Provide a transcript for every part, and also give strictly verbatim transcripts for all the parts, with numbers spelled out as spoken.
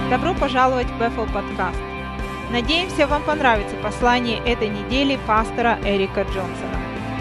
Добро пожаловать в Bethel подкаст. Надеемся, вам понравится послание этой недели пастора Эрика Джонсона.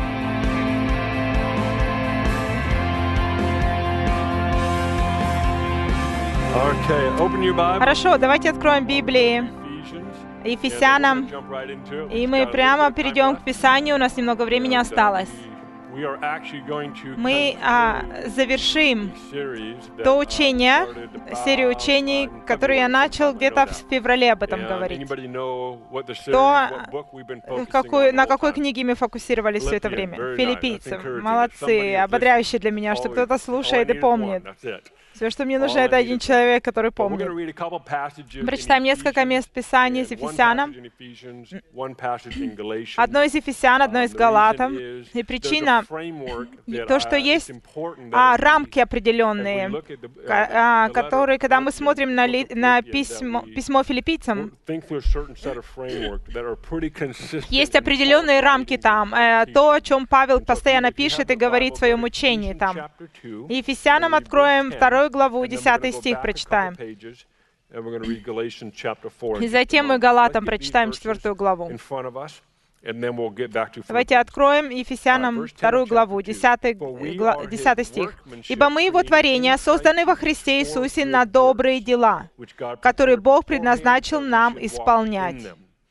Okay, open your Bible. Хорошо, давайте откроем Библии Ephesians. Ефесянам, Jump right into it. и мы прямо перейдем к Писанию, у нас немного времени осталось. We are actually going to Мы а, завершим series that то I учение, started серию about, учений, uh, in которые я February, начал sometime где-то ago в now. феврале об этом And говорить. anybody know what the series, То, what book we've been focusing какой, on на the whole какой time? книге мы фокусировались все это Philippians, время? very nice. Филиппийцы. That's encouraging. Somebody Молодцы, has ободряюще для меня, что All кто-то we- all I слушает и need is помнит. one, that's it. Все, что мне нужно, All I это need один is one. человек, который But we're going помнит. to read a couple passages in Прочитаем несколько Ephesians, мест Писания из and one Ефесянам. passage in Ephesians, one passage in Galatians. Одно из Ефесян, одно из Um, the Галатам. reason is И there's a причина, framework that, то, что uh, есть it's important that а, as we- рамки as we определенные, look at the, uh, ка- the- а, the letter которые, когда мы Philippians, смотрим на, book ли- of на Philippians, that письмо, we письмо филиппийцам, think through a certain set of framework that are pretty consistent есть in определенные Paul's рамки writings там, and э, то, о teachings. чем Павел And so постоянно if you have пишет the и говорит в Bible, своем go to учении Ephesians там. chapter two, И and Ефесянам we'll read verse откроем ten, вторую главу, and then we're десятый gonna go стих back a couple прочитаем. pages, and we're gonna read Galatians chapter four in И just a затем мы moment. Галатам Let's get these прочитаем verses четвертую главу. in front of us, and then we'll get back to Давайте Philippians. откроем Ефесянам вторую главу, десятый, гла- десятый стих. «Ибо мы Его творение, созданы во Христе Иисусе на добрые дела, которые Бог предназначил нам исполнять».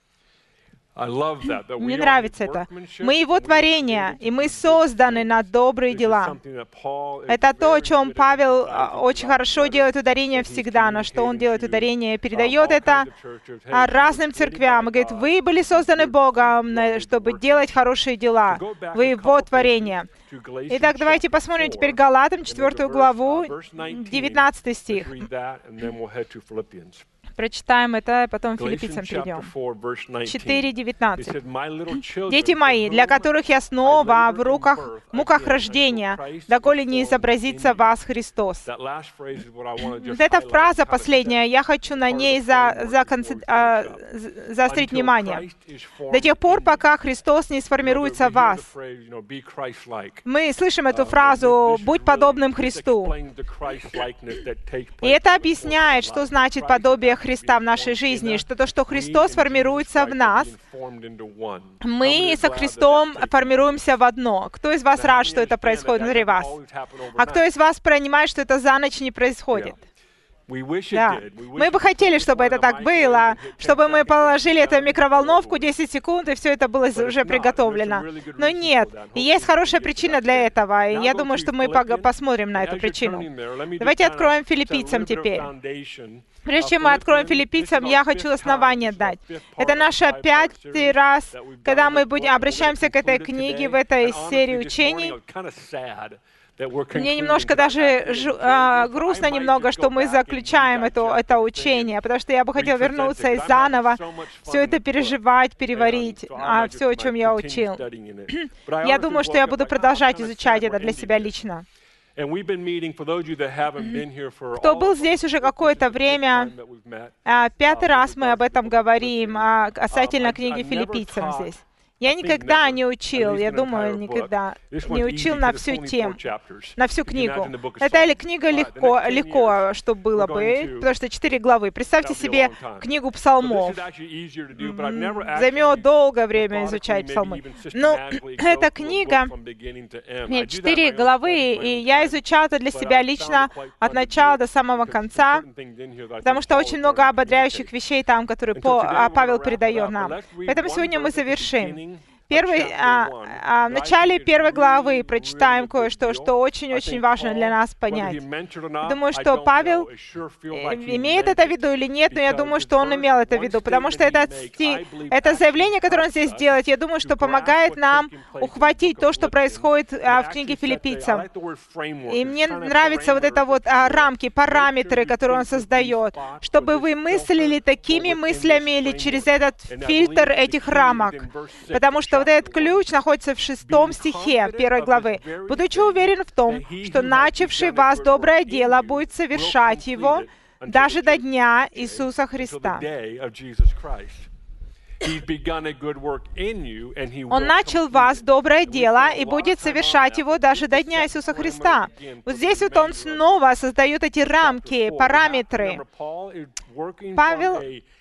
Мне нравится это. Мы Его творение, и мы созданы на добрые дела. Это то, о чем Павел а, очень хорошо делает ударение всегда, на что он делает ударение, передает это а, разным церквям. И говорит, вы были созданы Богом, на- чтобы делать хорошие дела. Вы Его творение. Итак, давайте посмотрим теперь Галатам, четвертую главу, девятнадцатый стих. Прочитаем это, а потом филиппийцам перейдем. четыре девятнадцать. «Дети мои, для которых я снова в руках, муках рождения, доколе не изобразится вас Христос». Вот эта фраза последняя, я хочу на ней за, за конце- а, з- заострить внимание. До тех пор, пока Христос не сформируется в вас. Мы слышим эту фразу «будь подобным Христу». И это объясняет, что значит подобие Христа в нашей жизни, что то, что Христос формируется в нас, мы со Христом формируемся в одно. Кто из вас рад, что это происходит внутри вас? А кто из вас понимает, что это за ночь не происходит? Да. Мы бы хотели, чтобы это так было, чтобы мы положили это в микроволновку десять секунд, и все это было уже приготовлено. Но нет. И есть хорошая причина для этого, и я думаю, что мы пог- посмотрим на эту причину. Давайте откроем филиппийцам теперь. Прежде чем мы откроем филиппийцам, я хочу основание дать. Это наш пятый раз, когда мы будем, обращаемся к этой книге в этой серии учений. Мне немножко даже жу- а, грустно немного, что мы заключаем это, это учение, потому что я бы хотел вернуться и заново все это переживать, переварить, а, все, о чем я учил. Я думаю, что я буду продолжать изучать это для себя лично. Кто был здесь уже какое-то время, а, пятый раз мы об этом говорим, а, касательно книги филиппийцам здесь. Я никогда не учил, я думаю, никогда не учил на всю тему, на всю книгу. Это или книга легко, легко, что было бы, потому что четыре главы. Представьте себе книгу псалмов. М, Займет долгое время изучать псалмы. Но эта книга, нет, четыре главы, и я изучал это для себя лично от начала до самого конца, потому что очень много ободряющих вещей там, которые По- а, Павел передает нам. Поэтому сегодня мы завершим. Первый, а, а, в начале первой главы прочитаем кое-что, что очень-очень важно для нас понять. Думаю, что Павел э, имеет это в виду или нет, но я думаю, что он имел это в виду, потому что этот стих, это заявление, которое он здесь делает, я думаю, что помогает нам ухватить то, что происходит а, в книге филиппийцам. И мне нравятся вот это вот а, рамки, параметры, которые он создает, чтобы вы мыслили такими мыслями или через этот фильтр этих рамок. Потому что вот этот ключ находится в шестом стихе первой главы. «Будучи уверен в том, что начавший в вас доброе дело будет совершать его даже до дня Иисуса Христа». Он начал в вас доброе дело и будет совершать его даже до дня Иисуса Христа. Вот здесь вот он снова создает эти рамки, параметры. Павел,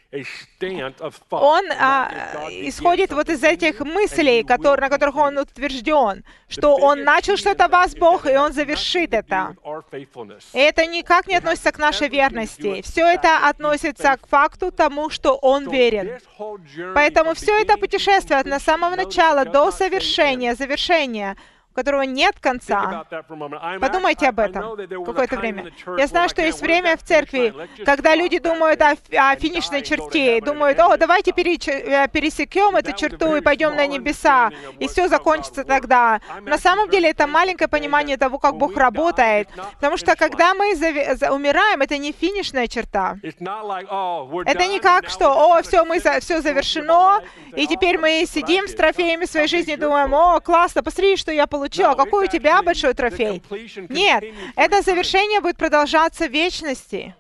он а, исходит вот из этих мыслей, которые, на которых он утвержден, что он начал что-то в вас, Бог, и он завершит это. И это никак не относится к нашей верности. Все это относится к факту тому, что он верен. Поэтому все это путешествие от самого начала до совершения, завершения, у которого нет конца. Подумайте об этом какое-то время. Я знаю, что есть время в церкви, когда люди думают о, о финишной черте, и думают, о, давайте пересекем эту черту и пойдем на небеса, и все закончится тогда. На самом деле, это маленькое понимание того, как Бог работает, потому что когда мы умираем, это не финишная черта. Это не как, что, о, все, мы за, все завершено, и теперь мы сидим с трофеями своей жизни и думаем, о, классно, посмотри, что я получил. А какой у тебя большой трофей? Нет, это завершение будет продолжаться в вечности.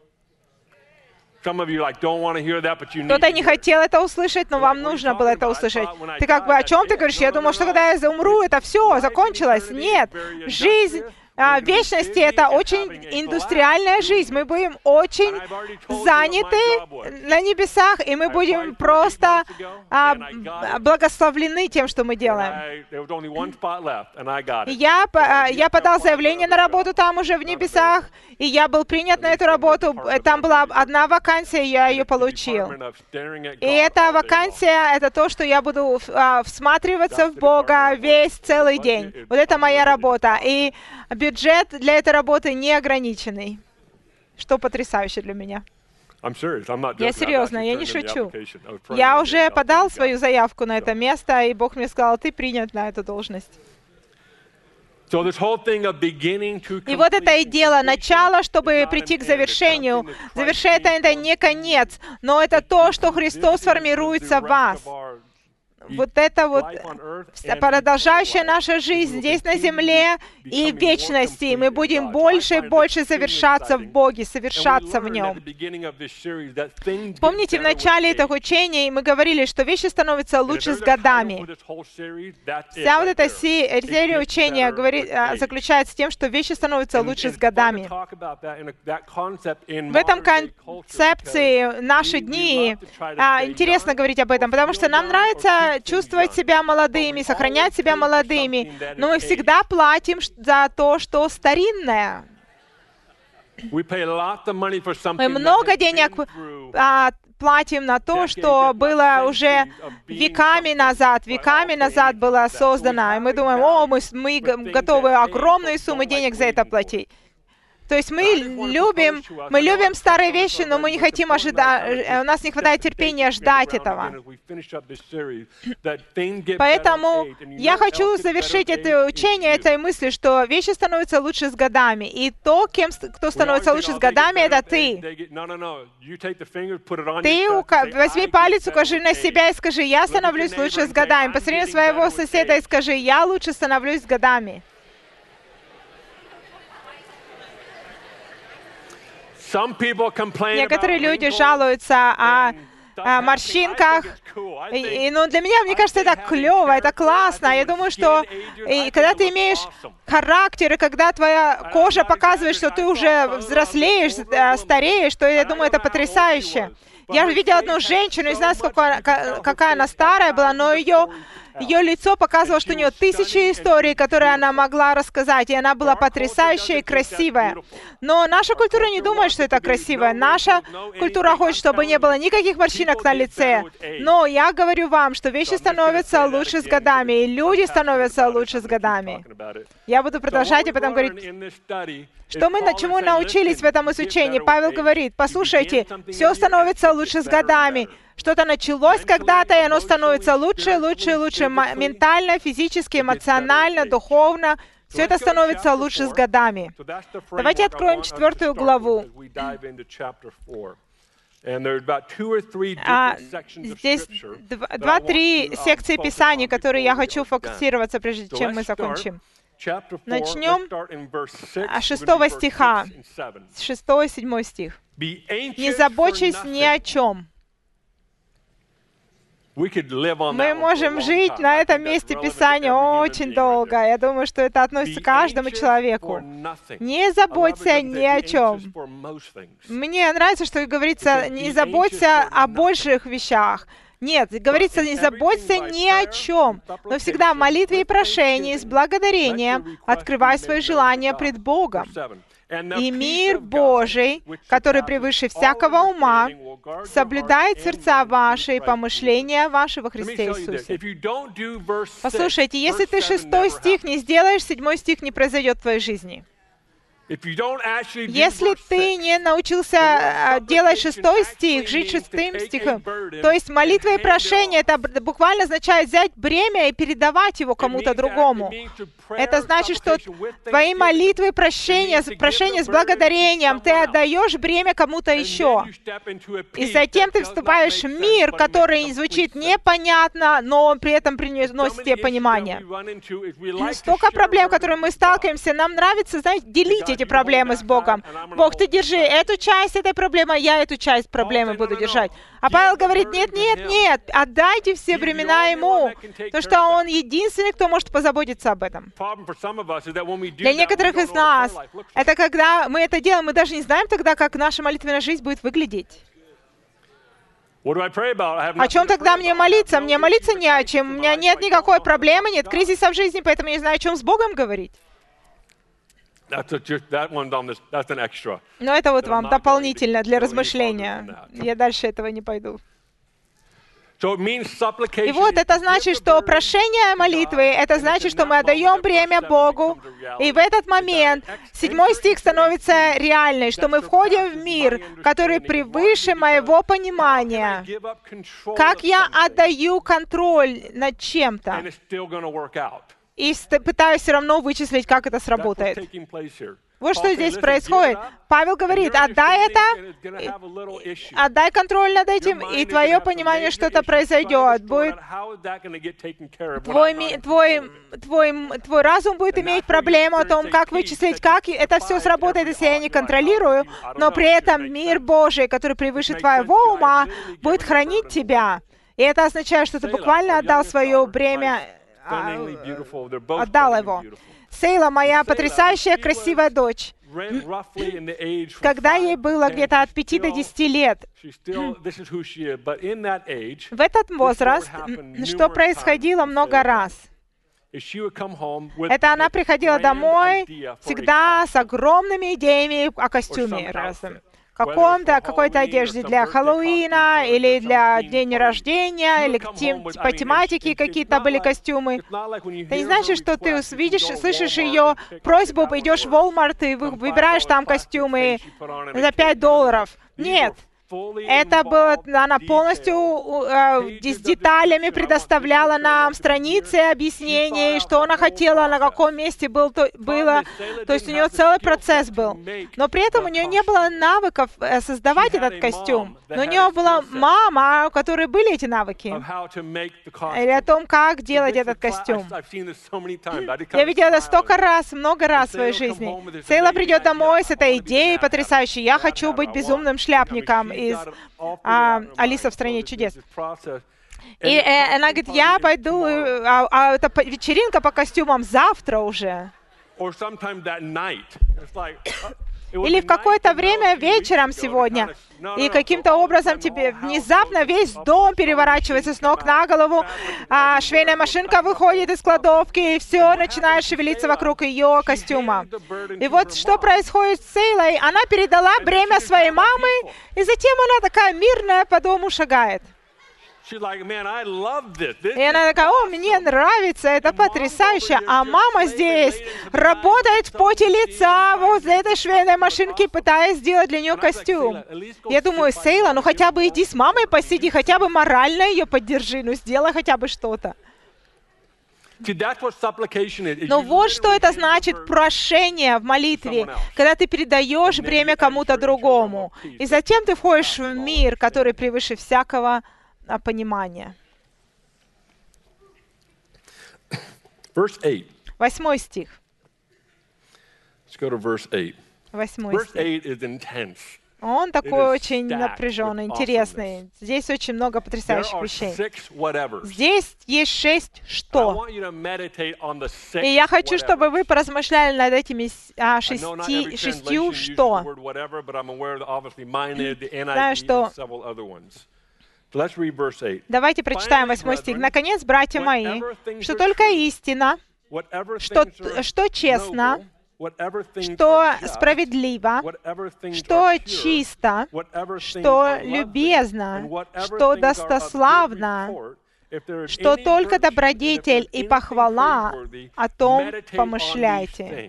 Кто-то не хотел это услышать, но вам нужно было это услышать. Ты как бы о чем ты говоришь? Я думал, что когда я умру, это все, закончилось. Нет, жизнь А, в вечности это очень индустриальная жизнь. Мы будем очень заняты на небесах, и мы будем просто а, благословлены тем, что мы делаем. Я, я подал заявление на работу там уже в небесах, и я был принят на эту работу. Там была одна вакансия, я ее получил. И эта вакансия — это то, что я буду а, всматриваться в Бога весь целый день. Вот это моя работа. И бюджет для этой работы неограниченный, что потрясающе для меня. Я серьезно, я не шучу. Я уже подал свою заявку на это место, и Бог мне сказал, ты принят на эту должность. И вот это и дело, начало, чтобы прийти к завершению. Завершение — это не конец, но это то, что Христос формируется в вас. Вот это вот продолжающая наша жизнь здесь на земле и в вечности. Мы будем больше и больше завершаться в Боге, совершаться в Нем. Помните, в начале этого учения мы говорили, что вещи становятся лучше с годами. Вся вот эта серия учения говорит, заключается в том, что вещи становятся лучше с годами. В этом концепции наши дни а, интересно говорить об этом, потому что нам нравится чувствовать себя молодыми, сохранять себя молодыми, но мы всегда платим за то, что старинное. Мы много денег а, платим на то, что было уже веками назад, веками назад было создано, и мы думаем, о, мы, мы готовы огромные суммы денег за это платить. То есть мы любим, мы любим старые вещи, но мы не хотим ожидать, у нас не хватает терпения ждать этого. Поэтому я хочу завершить это учение этой мыслью, что вещи становятся лучше с годами. И то, кем, кто становится лучше с годами, это ты. Ты возьми палец, укажи на себя и скажи, я становлюсь лучше с годами. Посмотри на своего соседа и скажи, я лучше становлюсь с годами. Некоторые люди жалуются о, о морщинках, и, и, ну, для меня, мне кажется, это клево, это классно. Я думаю, что и, когда ты имеешь характер, и когда твоя кожа показывает, что ты уже взрослеешь, стареешь, то я думаю, это потрясающе. Я видела одну женщину, не знаю, сколько, какая она старая была, но ее... Ее лицо показывало, что у нее тысячи историй, которые она могла рассказать, и она была потрясающая и красивая. Но наша культура не думает, что это красиво. Наша культура хочет, чтобы не было никаких морщинок на лице. Но я говорю вам, что вещи становятся лучше с годами, и люди становятся лучше с годами. Я буду продолжать об этом говорить. Что мы, на чему научились в этом изучении? Павел говорит, послушайте, все становится лучше с годами. Что-то началось когда-то, и оно становится лучше, лучше, лучше. Ментально, физически, эмоционально, духовно. Все это становится лучше с годами. Давайте откроем четвертую главу. А, здесь два-три секции Писаний, которые я хочу фокусироваться, прежде чем мы закончим. Начнем с шестого стиха, с шестого и седьмого стих. «Не забочьтесь ни о чем». Мы можем жить на этом месте Писания очень долго. Я думаю, что это относится к каждому человеку. Не заботься ни о чем. Мне нравится, что говорится, не заботься о больших вещах. Нет, говорится, не заботься ни о чем, но всегда в молитве и прошении с благодарением открывай свои желания пред Богом. И мир Божий, который превыше всякого ума, соблюдает сердца ваши и помышления ваши во Христе Иисусе. Послушайте, если ты шестой стих не сделаешь, седьмой стих не произойдет в твоей жизни. Если ты не научился делать шестой стих, жить шестым стихом, то есть молитва и прошение, это буквально означает взять бремя и передавать его кому-то другому. Это значит, что твои молитвы и прощения, прошение с благодарением, ты отдаешь бремя кому-то еще. И затем ты вступаешь в мир, который звучит непонятно, но он при этом приносит тебе понимание. Столько проблем, которые мы сталкиваемся, нам нравится, знаете, делить эти проблемы с Богом. Бог, ты держи эту часть этой проблемы, я эту часть проблемы буду держать. А Павел говорит, нет, нет, нет, отдайте все бремена Ему, потому что Он единственный, кто может позаботиться об этом. Для некоторых из нас, это когда мы это делаем, мы даже не знаем тогда, как наша молитвенная жизнь будет выглядеть. О чем тогда мне молиться? Мне молиться не о чем. У меня нет никакой проблемы, нет кризиса в жизни, поэтому я не знаю, о чем с Богом говорить. Но это вот вам дополнительно для размышления. Я дальше этого не пойду. И вот это значит, что прошение молитвы, это значит, что мы отдаем бремя Богу, и в этот момент седьмой стих становится реальной, что мы входим в мир, который превыше моего понимания. Как я отдаю контроль над чем-то, и пытаюсь все равно вычислить, как это сработает. Вот что здесь происходит. Павел говорит, отдай это, отдай контроль над этим, и твое понимание, что это произойдет. Будет твой, твой, твой, твой разум будет иметь проблему о том, как вычислить, как это все сработает, если я не контролирую, но при этом мир Божий, который превыше твоего ума, будет хранить тебя. И это означает, что ты буквально отдал свое бремя, отдал его. Сейла, моя потрясающая, красивая дочь, когда ей было где-то от пяти до десяти лет, в этот возраст, что происходило много раз, это она приходила домой всегда с огромными идеями о костюме разным. Каком-то, какой-то одежде для Хэллоуина, или для дня рождения, или тем, по тематике какие-то были костюмы. Это не значит, что ты видишь, слышишь ее просьбу, идешь в Walmart и выбираешь там костюмы за пять долларов. Нет. Это было, она полностью э, с деталями предоставляла нам страницы объяснений, что она хотела, на каком месте был, то, было. То есть у нее целый процесс был. Но при этом у нее не было навыков э, создавать этот костюм. Но у нее была мама, у которой были эти навыки. Или о том, как делать этот костюм. Я видела это столько раз, много раз в своей жизни. Сейла придет домой с этой идеей потрясающей. Я хочу быть безумным шляпником из а, «Алиса в стране чудес». И э, она говорит, я пойду, а, а это вечеринка по костюмам завтра уже. Или в какое-то время вечером сегодня. И каким-то образом тебе внезапно весь дом переворачивается с ног на голову, а швейная машинка выходит из кладовки, и все начинает шевелиться вокруг ее костюма. И вот что происходит с Сейлой. Она передала бремя своей мамы, и затем она такая мирная по дому шагает. И она такая, о, мне нравится, это потрясающе. А мама здесь работает в поте лица возле этой швейной машинки, пытаясь сделать для нее костюм. Я думаю, Сейла, ну хотя бы иди с мамой посиди, хотя бы морально ее поддержи, ну сделай хотя бы что-то. Но вот что это значит прошение в молитве, когда ты передаешь бремя кому-то другому. И затем ты входишь в мир, который превыше всякого понимания. Восьмой стих. Восьмой стих. Он такой очень напряженный, интересный. Здесь очень много потрясающих вещей. Здесь есть шесть «что». И я хочу, чтобы вы поразмышляли над этими а, шести, шестью «что». Знаю, что... Давайте прочитаем восьмой стих. «Наконец, братья мои, что только истина, что, что честно, что справедливо, что чисто, что любезно, что достославно, что только добродетель и похвала, о том помышляйте».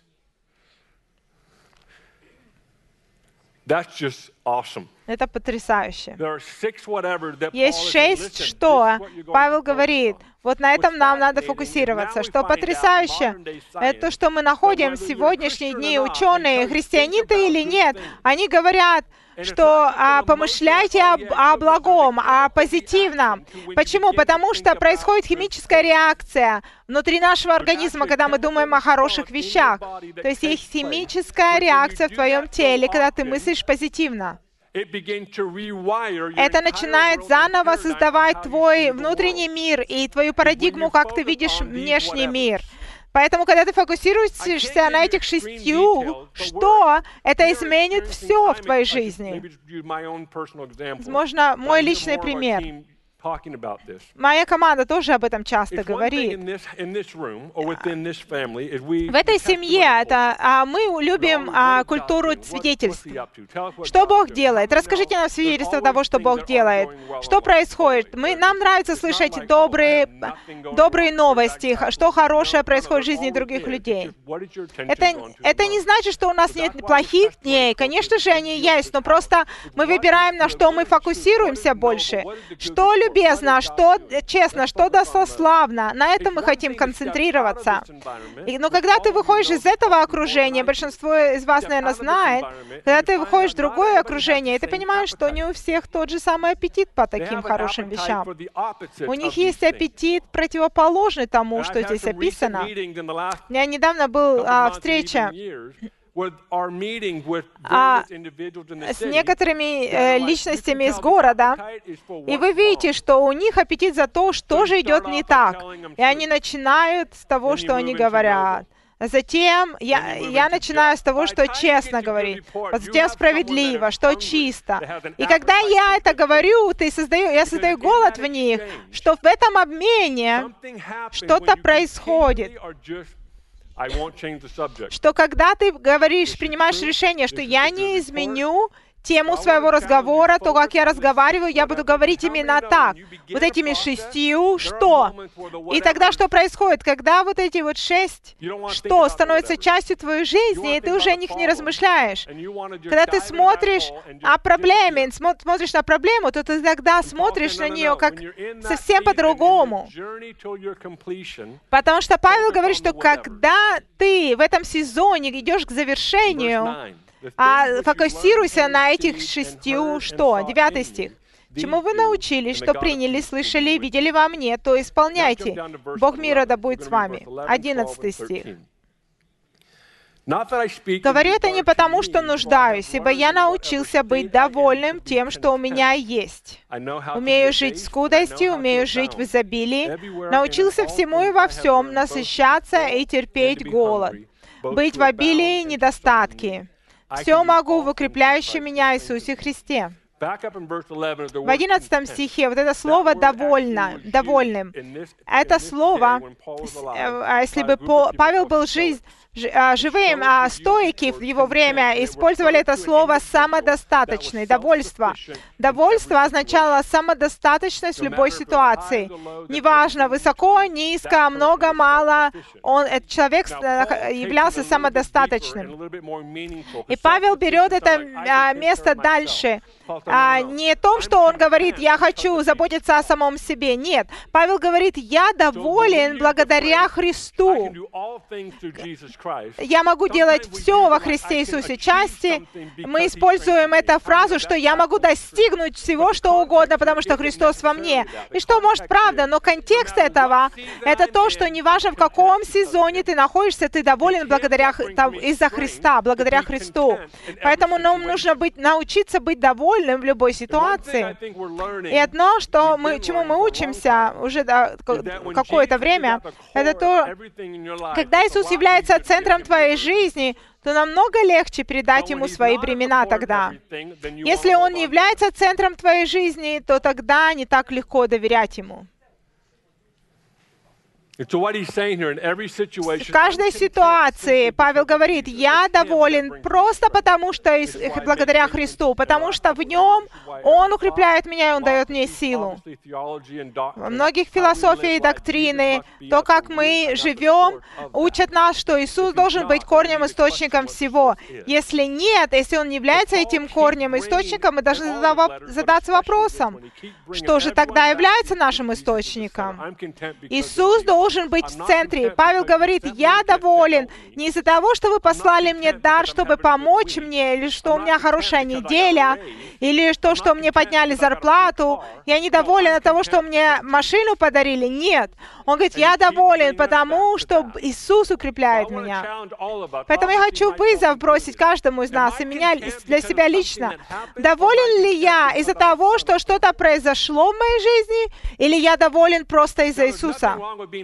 Это потрясающе. Есть шесть «что». Павел говорит, вот на этом нам надо фокусироваться. Что потрясающе, это то, что мы находим в сегодняшние дни. Ученые, христиане ты или нет, они говорят, что а, помышляйте о, о благом, о позитивном. Почему? Потому что происходит химическая реакция внутри нашего организма, когда мы думаем о хороших вещах. То есть есть химическая реакция в твоем теле, когда ты мыслишь позитивно. Это начинает заново создавать твой внутренний мир и твою парадигму, как ты видишь внешний мир. Поэтому, когда ты фокусируешься на этих шестью, что это изменит все в твоей жизни. Возможно, мой личный пример. Моя команда тоже об этом часто говорит. В этой семье это, а, мы любим а, культуру свидетельств. Что Бог делает? Расскажите нам свидетельство того, что Бог делает. Что происходит? Мы, нам нравится слышать добрые, добрые новости, что хорошее происходит в жизни других людей. Это, это не значит, что у нас нет плохих дней. Конечно же, они есть, но просто мы выбираем, на что мы фокусируемся больше. Что любим? Любезно, что честно, что достославно. На этом мы хотим концентрироваться. И, но когда ты выходишь из этого окружения, большинство из вас, наверное, знает, когда ты выходишь в другое окружение, и ты понимаешь, что не у всех тот же самый аппетит по таким хорошим вещам. У них есть аппетит противоположный тому, что здесь описано. У меня недавно была встреча А с некоторыми э, личностями из города, и вы видите, что у них аппетит за то, что же идет не так. И они начинают с того, что они говорят. Затем я, я начинаю с того, что честно говорить, затем справедливо, что чисто. И когда я это говорю, ты создаю, я создаю голод в них, что в этом обмене что-то происходит. Что когда ты говоришь, принимаешь решение, что я не изменю тему своего разговора, то, как я разговариваю, я буду говорить именно так. Вот этими шестью «что». И тогда что происходит? Когда вот эти вот шесть «что» становятся частью твоей жизни, и ты уже о них не размышляешь. Когда ты смотришь о проблеме, смотришь на проблему, то ты тогда смотришь на нее как совсем по-другому. Потому что Павел говорит, что когда ты в этом сезоне идешь к завершению, а фокусируйся на этих шестью «что». Девятый стих. «Чему вы научились, что приняли, слышали, видели во мне, то исполняйте. Бог мира да будет с вами». Одиннадцатый стих. «Говорю это не потому, что нуждаюсь, ибо я научился быть довольным тем, что у меня есть. Умею жить в скудости, умею жить в изобилии, научился всему и во всем насыщаться и терпеть голод, быть в обилии и недостатке. Все могу в укрепляющем меня Иисусе Христе». В одиннадцатом стихе вот это слово «довольно», «довольным». Это слово, если бы Павел был жив, живым, а стоики в его время использовали это слово «самодостаточный», «довольство». Довольство означало самодостаточность в любой ситуации. Неважно, высоко, низко, много, мало, он, этот человек являлся самодостаточным. И Павел берет это место дальше. А, не о том, что он говорит, я хочу заботиться о самом себе. Нет. Павел говорит, я доволен благодаря Христу. я могу делать все во Христе Иисусе. Части мы используем эту фразу, что я могу достигнуть всего, что угодно, потому что Христос во мне. И что, может, правда, но контекст этого — это то, что неважно, в каком сезоне ты находишься, ты доволен благодаря из-за Христа, благодаря Христу. Поэтому нам нужно быть, научиться быть довольным в любой ситуации. И одно, что мы, чему мы учимся уже да, какое-то время, это то, когда Иисус является центром твоей жизни, то намного легче передать Ему свои бремена тогда. Если Он не является центром твоей жизни, то тогда не так легко доверять Ему. В каждой ситуации Павел говорит, я доволен просто потому, что благодаря Христу, потому что в Нем Он укрепляет меня, и Он дает мне силу. Во многих философии и доктрины, то, как мы живем, учат нас, что Иисус должен быть корнем, источником всего. Если нет, если Он не является этим корнем, источником, мы должны задаться вопросом, что же тогда является нашим источником? Иисус должен должен быть в центре. Павел говорит, я доволен не из-за того, что вы послали мне дар, чтобы помочь мне, или что у меня хорошая неделя, или то, что мне подняли зарплату. Я не доволен от того, что мне машину подарили. Нет. Он говорит, я доволен, потому что Иисус укрепляет меня. Поэтому я хочу вызов бросить каждому из нас, и меня для себя лично. Доволен ли я из-за того, что что-то произошло в моей жизни, или я доволен просто из-за Иисуса?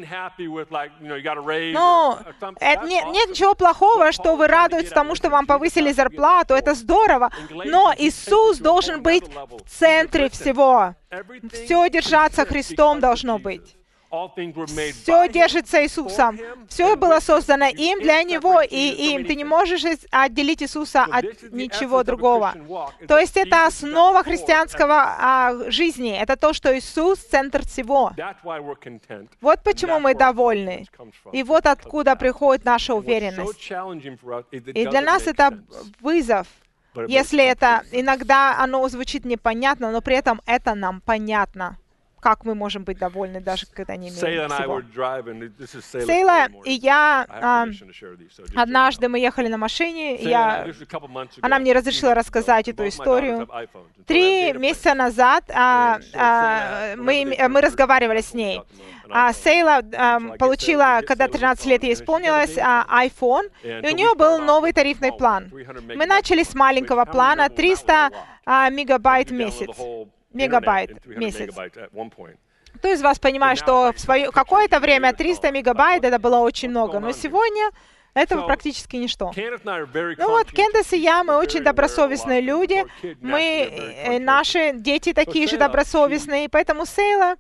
Ну, нет, нет ничего плохого, что вы радуетесь тому, что вам повысили зарплату, это здорово, но Иисус должен быть в центре всего. Все держаться Христом должно быть. Все держится Иисусом. Все было создано им, для Него и им. Ты не можешь отделить Иисуса от ничего другого. То есть это основа христианского а, жизни. Это то, что Иисус — центр всего. Вот почему мы довольны. И вот откуда приходит наша уверенность. И для нас это вызов. Если это иногда оно звучит непонятно, но при этом это нам понятно. Как мы можем быть довольны, даже когда не имеем всего. Сейла и я, а, однажды мы ехали на машине, и я, она мне разрешила рассказать эту историю. Три месяца назад а, а, мы, мы разговаривали с ней. А Сейла а, получила, когда тринадцать лет ей исполнилось, а, iPhone, и у нее был новый тарифный план. Мы начали с маленького плана, триста а, мегабайт в месяц. Мегабайт в месяц. Кто из вас понимает, что в свое какое-то время триста мегабайт это было очень много, но сегодня это практически ничто. Ну вот, Кендис и я, мы очень добросовестные люди, мы, наши дети такие же добросовестные, поэтому Сейла,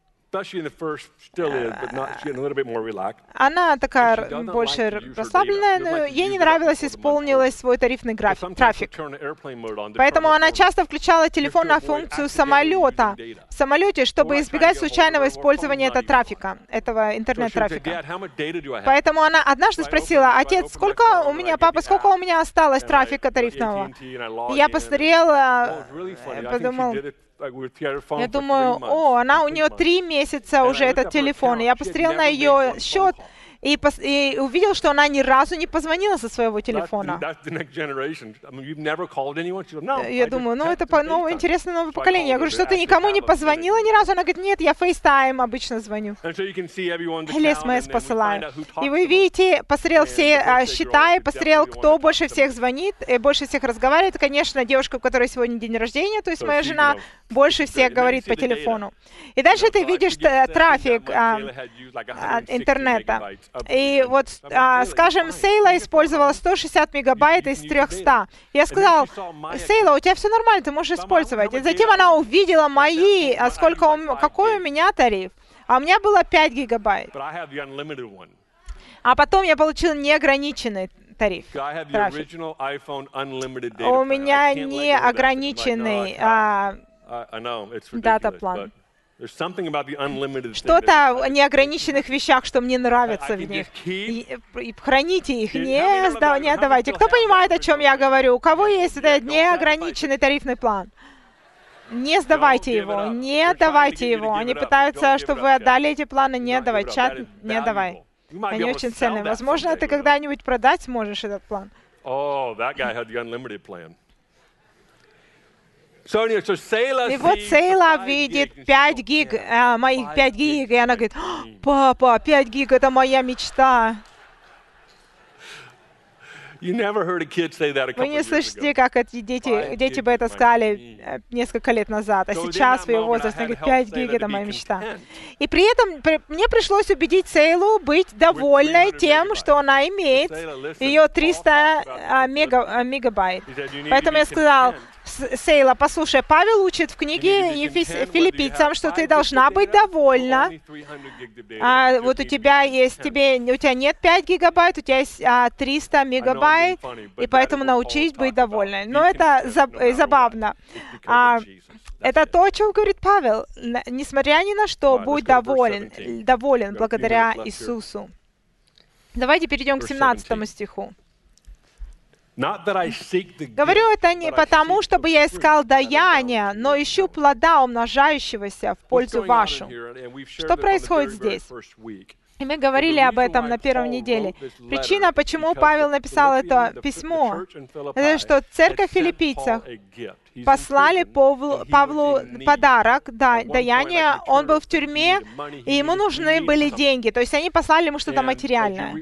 она такая больше расслабленная, но ей не нравилось исполнилось свой тарифный график, трафик. Поэтому она часто включала телефон на функцию самолета в самолете, чтобы избегать случайного использования этого трафика, этого интернет-трафика. Поэтому она однажды спросила, отец, сколько у меня, папа, сколько у меня осталось трафика тарифного? И я посмотрела, подумал, я думаю, о, она, у нее три месяца уже этот телефон. И я посмотрел на ее счет и, пос, и увидел, что она ни разу не позвонила со своего телефона. Я думаю, ну это ну, интересное новое поколение. Я говорю, что ты никому не позвонила ни разу? Она говорит, нет, я FaceTime обычно звоню. Или эс эм эс посылаю. И вы видите, посмотрел все а, счета и посмотрел, кто больше всех звонит, и больше всех разговаривает. Конечно, девушка, у которой сегодня день рождения, то есть моя жена, больше всех говорит по телефону. И дальше ты видишь трафик а, а, интернета. И вот, а, скажем, Сейла использовала сто шестьдесят мегабайт из трехсот. Я сказал, Сейла, у тебя все нормально, ты можешь использовать. И затем она увидела мои, а сколько у, какой у меня тариф. А у меня было пять гигабайт. А потом я получил неограниченный тариф. Трафик. У меня неограниченный а, дата-план. Что-то в неограниченных вещах, что мне нравится в них. И, и храните их, не, сда, не отдавайте. Кто понимает, о чем я говорю? У кого есть этот неограниченный тарифный план? Не сдавайте его, не отдавайте его. Они пытаются, чтобы вы отдали эти планы, не отдавай. Чат, не отдавай. Они очень ценные. Возможно, ты когда-нибудь продать сможешь этот план. Oh, that guy had the unlimited plan. So, anyway, so Selah И вот sees Сейла five видит gigs, пять and she гиг, goes, а, моих five пять gigs гиг, и она is говорит: my dream. папа, пять гиг — это моя мечта. You never heard a kid say that a Вы couple не of years слышите, ago. как эти дети, дети бы это сказали э, несколько лет назад, а So within сейчас that в ее moment, I возрасте had говорит: to help пять гиг — Selah это to be моя мечта. content И при этом при- мне пришлось убедить Сейлу быть довольной three hundred тем, что она имеет Sayla, listen, ее Paul триста talked about а, this мега, literally. а, мегабайт. He said, "You need to Поэтому be я сказал: content. «С- Сейла, послушай, Павел учит в You need to книге be Ефес- content whether you филиппийцам, have что five ты gigs должна of быть data or довольна. only three hundred gigs of data. А, You just вот у need to be тебя есть, content." тебе, у тебя нет пять гигабайт, у тебя есть а, триста мегабайт, funny, but и that поэтому is what Paul научись is быть talking довольной. about. Но Be это content заб- no matter забавно. what. It's because А, of Jesus. That's Это it. то, о чем говорит Павел. Н- Несмотря ни на что, Right, будь let's go to verse доволен, seventeen. доволен We've got a few благодаря minutes left here. Иисусу. Давайте перейдем к Verse семнадцатому seventeen. стиху. Not that I seek the Говорю gift, это не but I потому, seek чтобы the я fruit искал that даяние, abounds in но your ищу power. плода, умножающегося в What's пользу going on in вашу. here, and we've shared Что this on the происходит very, very здесь? first week. И мы говорили об этом на первой неделе. Причина, почему Павел написал это письмо, это что церковь в филиппийцах послали Павлу, Павлу подарок, да, даяние. Он был в тюрьме, и ему нужны были деньги. То есть они послали ему что-то материальное.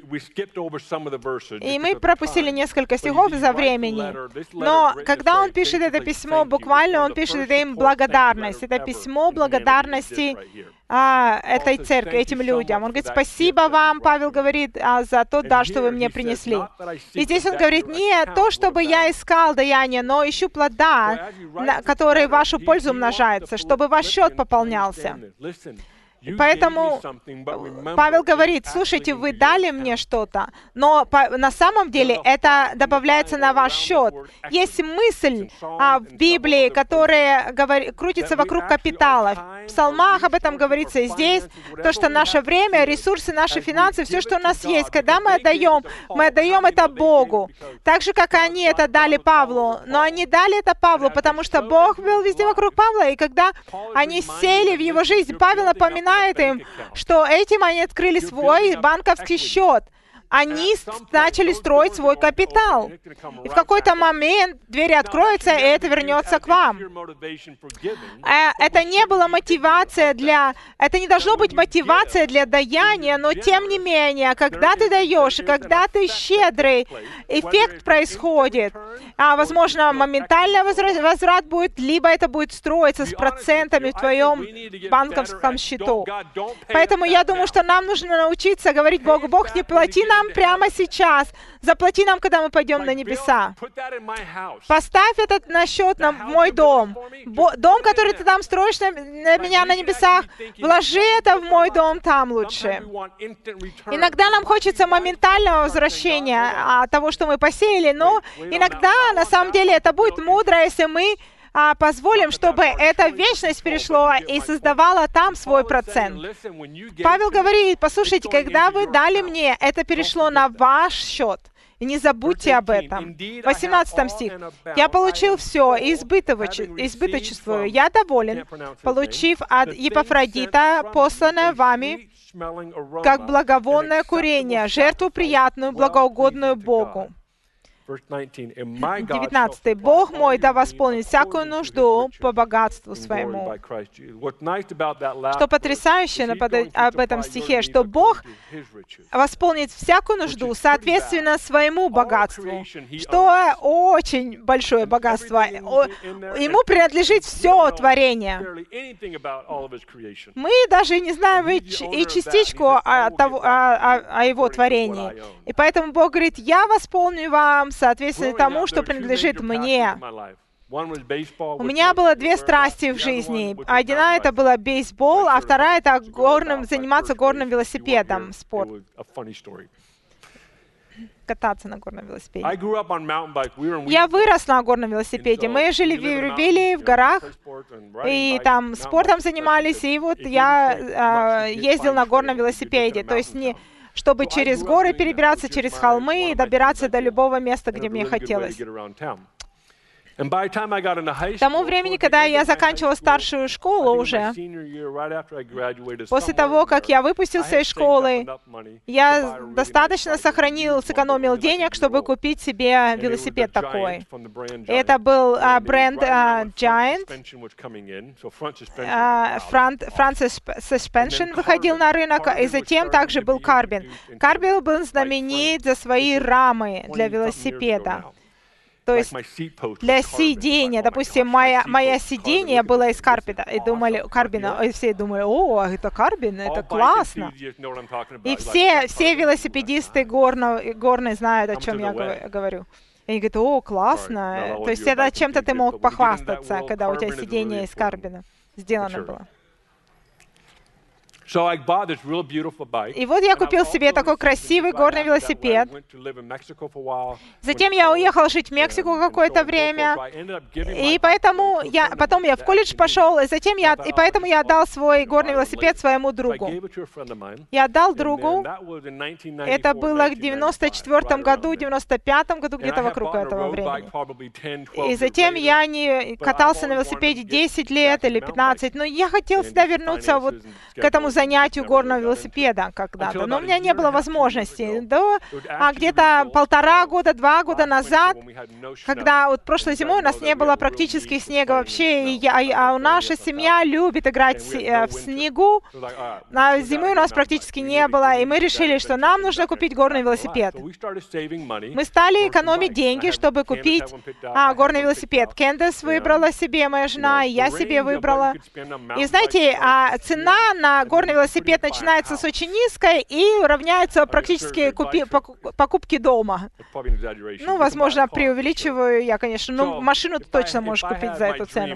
И мы пропустили несколько стихов из-за времени. Но когда он пишет это письмо, буквально он пишет это им благодарность. Это письмо благодарности а, этой церкви, этим людям. Он говорит: спасибо вам, Павел говорит, а, за тот дар, что вы мне принесли. И здесь он говорит: не то, чтобы я искал даяние, но ищу плода, на, которые в вашу пользу умножаются, чтобы ваш счет пополнялся. И поэтому Павел говорит: слушайте, вы дали мне что-то, но по, на самом деле это добавляется на ваш счет. Есть мысль а, в Библии, которая говори, крутится вокруг капитала. В псалмах об этом говорится и здесь, то, что наше время, ресурсы, наши финансы, все, что у нас есть, когда мы отдаем, мы отдаем это Богу. Так же, как они это дали Павлу. Но они дали это Павлу, потому что Бог был везде вокруг Павла, и когда они сели в его жизнь, Павел напоминает им, что этим они открыли свой банковский счет. Они начали строить свой капитал. И в какой-то момент двери откроются, и это вернется к вам. Это не была мотивация для... Это не должно быть мотивация для даяния, но тем не менее, когда ты даешь, и когда ты щедрый, эффект происходит. А, возможно, моментально возврат, возврат будет, либо это будет строиться с процентами в твоем банковском счету. Поэтому я думаю, что нам нужно научиться говорить Богу: Бог, не плати нам прямо сейчас, заплати нам, когда мы пойдем на небеса. Поставь этот на счет на мой дом. Бо, дом, который ты там строишь на, на меня на небесах, вложи это в мой дом там лучше. Иногда нам хочется моментального возвращения от того, что мы посеяли, но иногда, на самом деле, это будет мудро, если мы а, позволим, чтобы эта вечность перешло и создавала там свой процент. Павел говорит: послушайте, когда вы дали мне, это перешло на ваш счет. И не забудьте об этом. восемнадцатый стих. «Я получил все, и избыточествую. Я доволен, получив от Епафродита, посланное вами, как благовонное курение, жертву приятную, благоугодную Богу». девятнадцатый. «Бог мой да восполнит всякую нужду по богатству своему». Что потрясающе об этом стихе, что Бог восполнит всякую нужду соответственно своему богатству, что очень большое богатство. Ему принадлежит все творение. Мы даже не знаем и частичку о, того, о, о его творении. И поэтому Бог говорит: я восполню вам соответственно тому, что принадлежит мне. У меня было две страсти в жизни. Одна — это была бейсбол, а вторая — это горным, заниматься горным велосипедом, спорт. Кататься на горном велосипеде. Я вырос на горном велосипеде. Мы жили в Вербилии, в горах, и там спортом занимались, и вот я э, ездил на горном велосипеде. То есть не... чтобы через горы перебираться, через холмы и добираться до любого места, где мне хотелось. К тому времени, когда я заканчивал старшую школу уже, после того, как я выпустился из школы, я достаточно сохранил, сэкономил денег, чтобы купить себе велосипед такой. Это был а, бренд а, Giant. А, Front, Front Suspension выходил на рынок, и затем также был Carbon. Carbon был знаменит за свои рамы для велосипеда. То есть для сидения, допустим, моя, моя сиденье было из карбина, и думали, карбина, и все думали, о, это карбин, это классно. И все, все велосипедисты горно, горные знают, о чем я говорю. И они говорят, о, классно. То есть это чем-то ты мог похвастаться, когда у тебя сиденье из карбина сделано было. И вот я купил себе такой красивый горный велосипед. Затем я уехал жить в Мексику какое-то время, и поэтому я, потом я в колледж пошел, и затем я, и поэтому я отдал свой горный велосипед своему другу. Я отдал другу, это было в девяносто четвёртом году, девяносто пятом году, где-то вокруг этого времени. И затем я не катался на велосипеде десять лет или пятнадцать, но я хотел всегда вернуться вот к этому занятию горного велосипеда когда-то, но у меня не было возможности. До а, где-то полтора года, два года назад, когда вот прошлой зимой у нас не было практически снега вообще, и я, а наша семья любит играть в снегу, а зимы у нас практически не было, и мы решили, что нам нужно купить горный велосипед. Мы стали экономить деньги, чтобы купить а, горный велосипед. Кэндис выбрала себе, моя жена, и я себе выбрала. И знаете, а, цена на горный велосипед начинается с очень низкой и равняется практически купи, покупке дома. Ну, возможно, преувеличиваю я, конечно, но машину ты точно можешь купить за эту цену.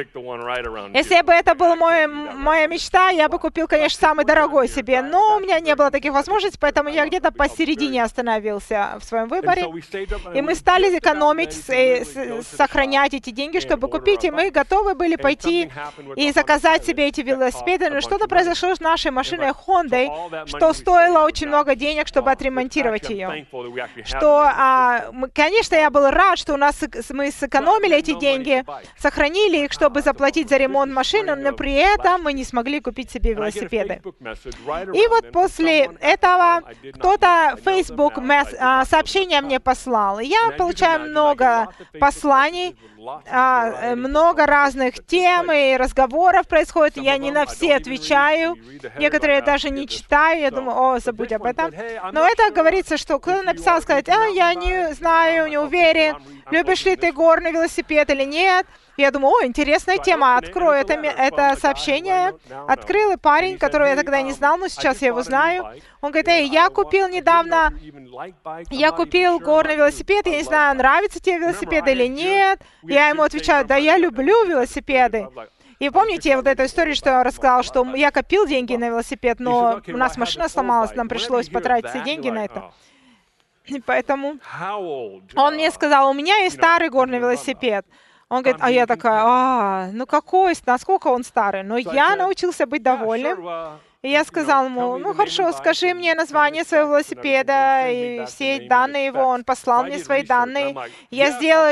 Если бы это была мой, моя мечта, я бы купил, конечно, самый дорогой себе, но у меня не было таких возможностей, поэтому я где-то посередине остановился в своем выборе. И мы стали экономить, сохранять эти деньги, чтобы купить, и мы готовы были пойти и заказать себе эти велосипеды, но что-то произошло с нашей машиной Honda, что стоило очень много денег, чтобы отремонтировать ее. Что, а, мы, конечно, я был рад, что у нас мы сэкономили эти деньги, сохранили их, чтобы заплатить за ремонт машины, но при этом мы не смогли купить себе велосипеды. И вот после этого кто-то в Facebook а, сообщение мне послал. Я получаю много посланий, а, много разных тем и разговоров происходит. Я не на все отвечаю. Некоторые даже не читаю. Я думаю, о, забудь об этом. Но это говорится, что кто-то написал, сказать, а, я не знаю, не уверен, любишь ли ты горный велосипед или нет. Я думаю, о, интересная тема, открою это, это сообщение. Открыл, и парень, которого я тогда не знал, но сейчас я его знаю. Он говорит, эй, я купил недавно, я купил горный велосипед, я не знаю, нравится тебе велосипед или нет. Я ему отвечаю, да я люблю велосипеды. И помните вот эту историю, что я рассказал, что я копил деньги на велосипед, но у нас машина сломалась, нам пришлось потратить все деньги на это. И поэтому он мне сказал, у меня есть старый горный велосипед. Он говорит, а я такая, а, ну какой, насколько он старый? Но я научился быть довольным. И я сказал ему, ну хорошо, скажи мне название своего велосипеда и все данные его. Он послал мне свои данные. Я сделал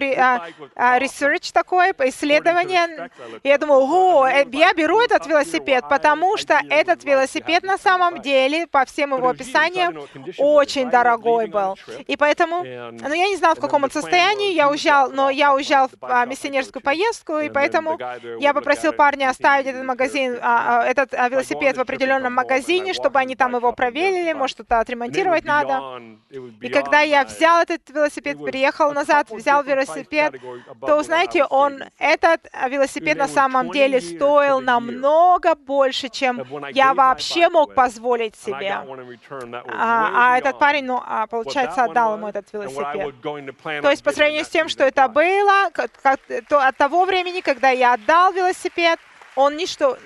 research такой, исследование. И я думаю, о, я беру этот велосипед, потому что этот велосипед на самом деле, по всем его описаниям, очень дорогой был. И поэтому, ну я не знал, в каком он состоянии, я уезжал, но я уезжал в а, миссионерскую поездку, и поэтому я попросил парня оставить этот магазин, а, этот а, велосипед в определенном магазине, чтобы они там его проверили, может, что-то отремонтировать надо. И когда я взял этот велосипед, приехал назад, взял велосипед, то, знаете, он, этот велосипед на самом деле стоил намного больше, чем я вообще мог позволить себе. А, а этот парень, ну, а, получается, отдал ему этот велосипед. То есть, по сравнению с тем, что это было, как, то от того времени, когда я отдал велосипед, он ничто...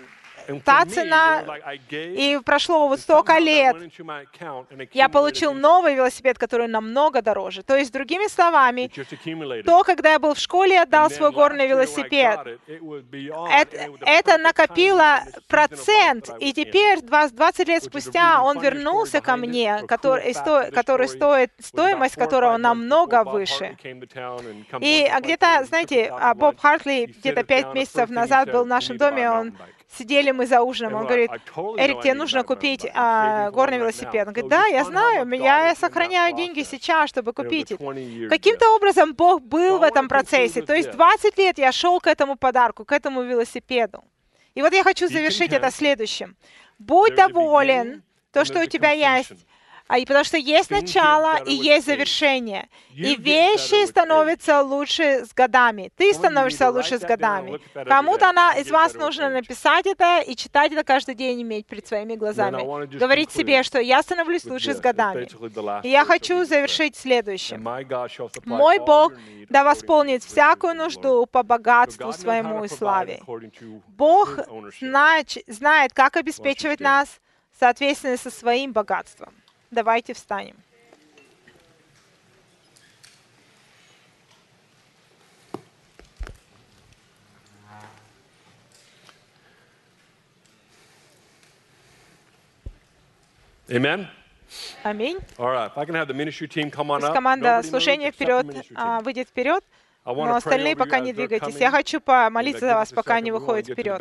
та цена, и прошло вот столько лет, я получил новый велосипед, который намного дороже. То есть, другими словами, то, когда я был в школе и отдал свой горный велосипед, это, это накопило процент, и теперь, двадцать лет спустя, он вернулся ко мне, который, сто, который стоит, стоимость которого намного выше. И где-то, знаете, Боб Хартли где-то пять месяцев назад был в нашем доме, он сидели мы за ужином, он говорит: Эрик, тебе нужно купить а, горный велосипед. Он говорит: да, я знаю, я сохраняю деньги сейчас, чтобы купить их. Каким-то образом Бог был в этом процессе. То есть двадцать лет я шел к этому подарку, к этому велосипеду. И вот я хочу завершить это следующим. Будь доволен то, что у тебя есть. А и потому что есть начало и есть завершение. И вещи становятся лучше с годами. Ты становишься лучше с годами. Кому-то она, из вас нужно написать это и читать это каждый день, иметь перед своими глазами. Говорить себе, что я становлюсь лучше с годами. И я хочу завершить следующим. Мой Бог да восполнит всякую нужду по богатству своему и славе. Бог знает, знает, как обеспечивать нас, соответственно, со своим богатством. Давайте встанем. Amen. Аминь. Пусть команда служения вперед а, выйдет вперед, но остальные пока не двигайтесь. Я хочу помолиться за вас, пока они выходят вперед.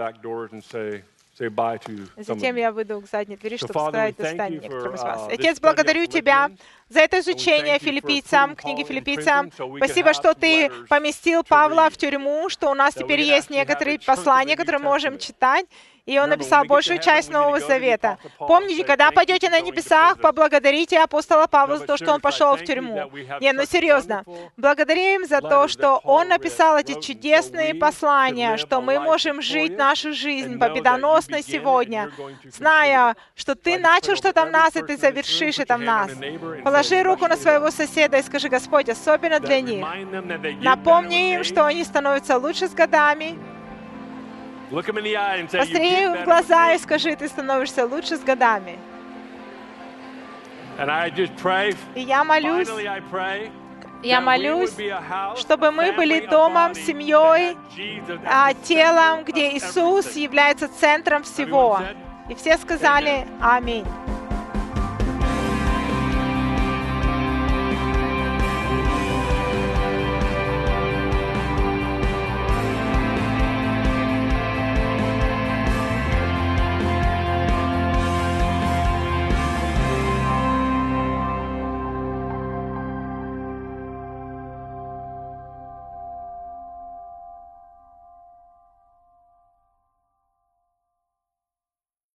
Затем я выйду к задней двери, чтобы сказать до свидания некоторым из вас. Отец, благодарю Тебя за это изучение филиппийцам, книги филиппийцам. Спасибо, что Ты поместил Павла в тюрьму, что у нас теперь есть некоторые послания, которые мы можем читать. И он написал большую часть Нового Завета. Помните, когда пойдете на небесах, поблагодарите апостола Павла за то, что он пошел в тюрьму. Не, ну серьезно. Благодарим за то, что он написал эти чудесные послания, что мы можем жить нашу жизнь победоносно сегодня, зная, что ты начал что-то в нас, и ты завершишь это в нас. Положи руку на своего соседа и скажи: Господь, особенно для них. Напомни им, что они становятся лучше с годами. Посмотри им в глаза и скажи: ты становишься лучше с годами. И я молюсь, я молюсь, чтобы мы были домом, семьей, телом, где Иисус является центром всего. И все сказали: Аминь.